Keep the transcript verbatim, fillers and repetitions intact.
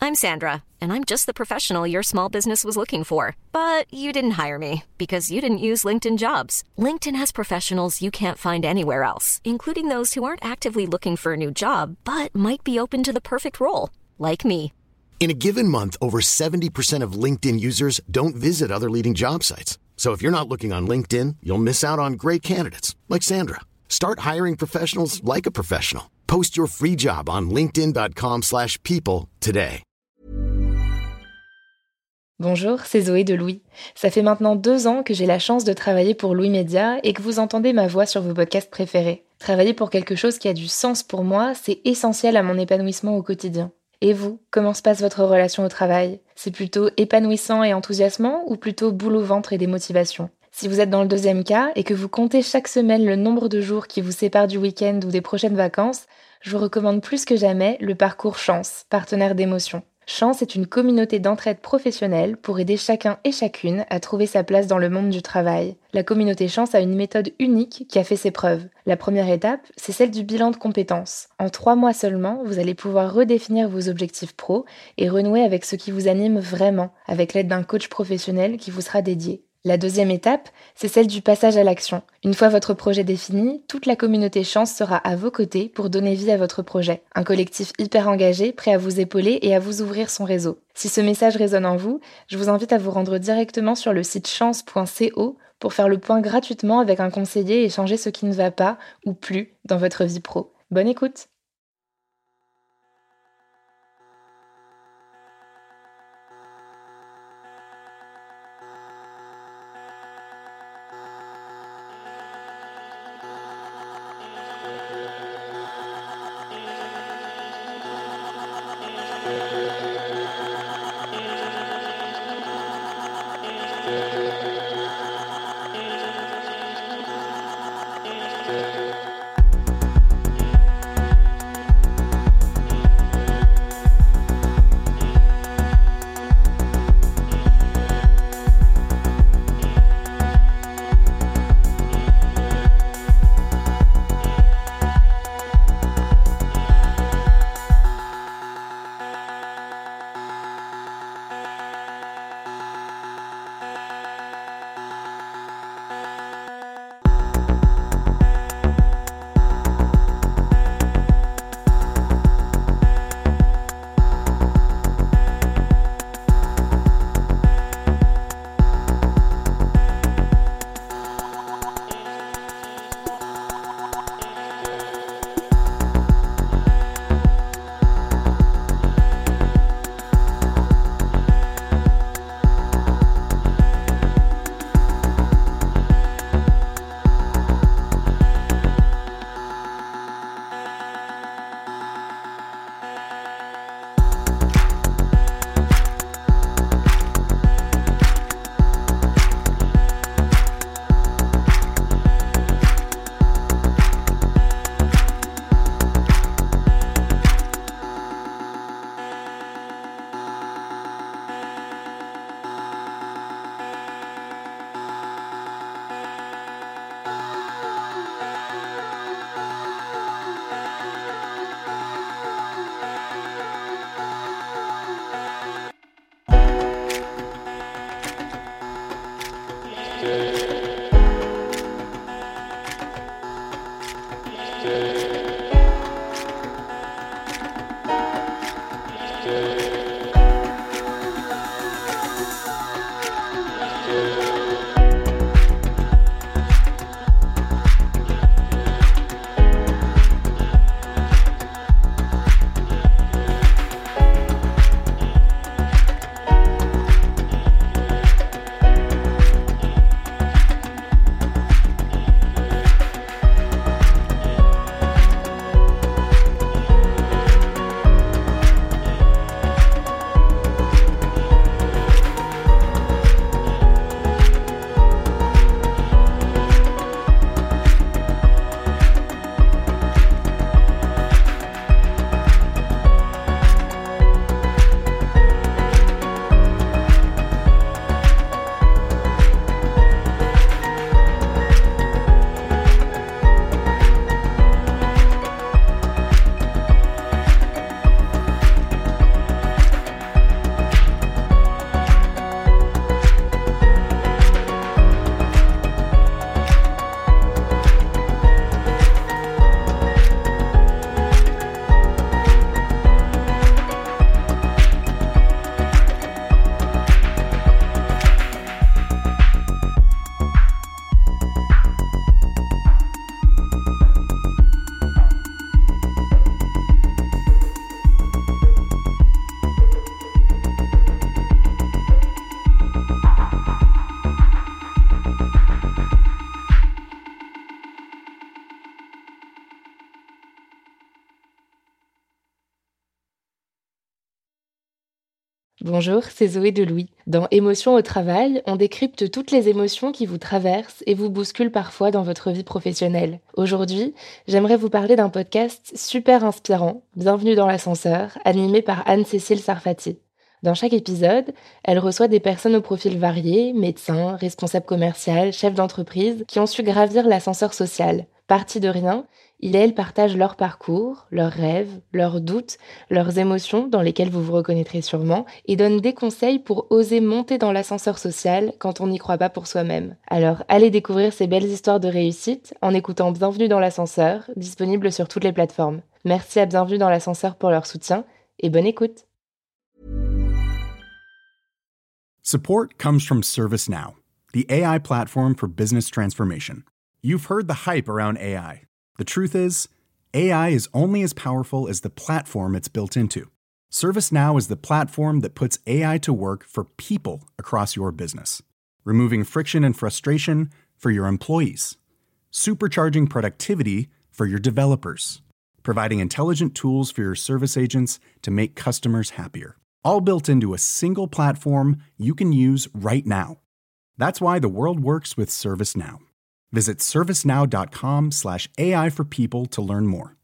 I'm Sandra, and I'm just the professional your small business was looking for. But you didn't hire me because you didn't use LinkedIn Jobs. LinkedIn has professionals you can't find anywhere else, including those who aren't actively looking for a new job, but might be open to the perfect role, like me. In a given month, over seventy percent of LinkedIn users don't visit other leading job sites. So if you're not looking on LinkedIn, you'll miss out on great candidates like Sandra. Start hiring professionals like a professional. Post your free job on linkedin.com slash people today. Bonjour, c'est Zoé de Louis. Ça fait maintenant deux ans que j'ai la chance de travailler pour Louis Média et que vous entendez ma voix sur vos podcasts préférés. Travailler pour quelque chose qui a du sens pour moi, c'est essentiel à mon épanouissement au quotidien. Et vous, comment se passe votre relation au travail ? C'est plutôt épanouissant et enthousiasmant ou plutôt boule au ventre et démotivation ? Si vous êtes dans le deuxième cas et que vous comptez chaque semaine le nombre de jours qui vous séparent du week-end ou des prochaines vacances, je vous recommande plus que jamais le parcours Chance, partenaire d'émotion. Chance est une communauté d'entraide professionnelle pour aider chacun et chacune à trouver sa place dans le monde du travail. La communauté Chance a une méthode unique qui a fait ses preuves. La première étape, c'est celle du bilan de compétences. En trois mois seulement, vous allez pouvoir redéfinir vos objectifs pro et renouer avec ce qui vous anime vraiment, avec l'aide d'un coach professionnel qui vous sera dédié. La deuxième étape, c'est celle du passage à l'action. Une fois votre projet défini, toute la communauté Chance sera à vos côtés pour donner vie à votre projet. Un collectif hyper engagé, prêt à vous épauler et à vous ouvrir son réseau. Si ce message résonne en vous, je vous invite à vous rendre directement sur le site chance point co pour faire le point gratuitement avec un conseiller et changer ce qui ne va pas ou plus dans votre vie pro. Bonne écoute! Bonjour, c'est Zoé de Louis. Dans Émotions au travail, on décrypte toutes les émotions qui vous traversent et vous bousculent parfois dans votre vie professionnelle. Aujourd'hui, j'aimerais vous parler d'un podcast super inspirant, Bienvenue dans l'ascenseur, animé par Anne-Cécile Sarfati. Dans chaque épisode, elle reçoit des personnes au profil varié, médecins, responsables commerciaux, chefs d'entreprise, qui ont su gravir l'ascenseur social. Partis de rien, ils et elles partagent leur parcours, leurs rêves, leurs doutes, leurs émotions dans lesquelles vous vous reconnaîtrez sûrement, et donnent des conseils pour oser monter dans l'ascenseur social quand on n'y croit pas pour soi-même. Alors allez découvrir ces belles histoires de réussite en écoutant Bienvenue dans l'ascenseur, disponible sur toutes les plateformes. Merci à Bienvenue dans l'ascenseur pour leur soutien, et bonne écoute. Support comes from ServiceNow, the A I platform for business transformation. You've heard the hype around A I. The truth is, A I is only as powerful as the platform it's built into. ServiceNow is the platform that puts A I to work for people across your business, removing friction and frustration for your employees, supercharging productivity for your developers, providing intelligent tools for your service agents to make customers happier. All built into a single platform you can use right now. That's why the world works with ServiceNow. Visit servicenow.com slash AI for people to learn more.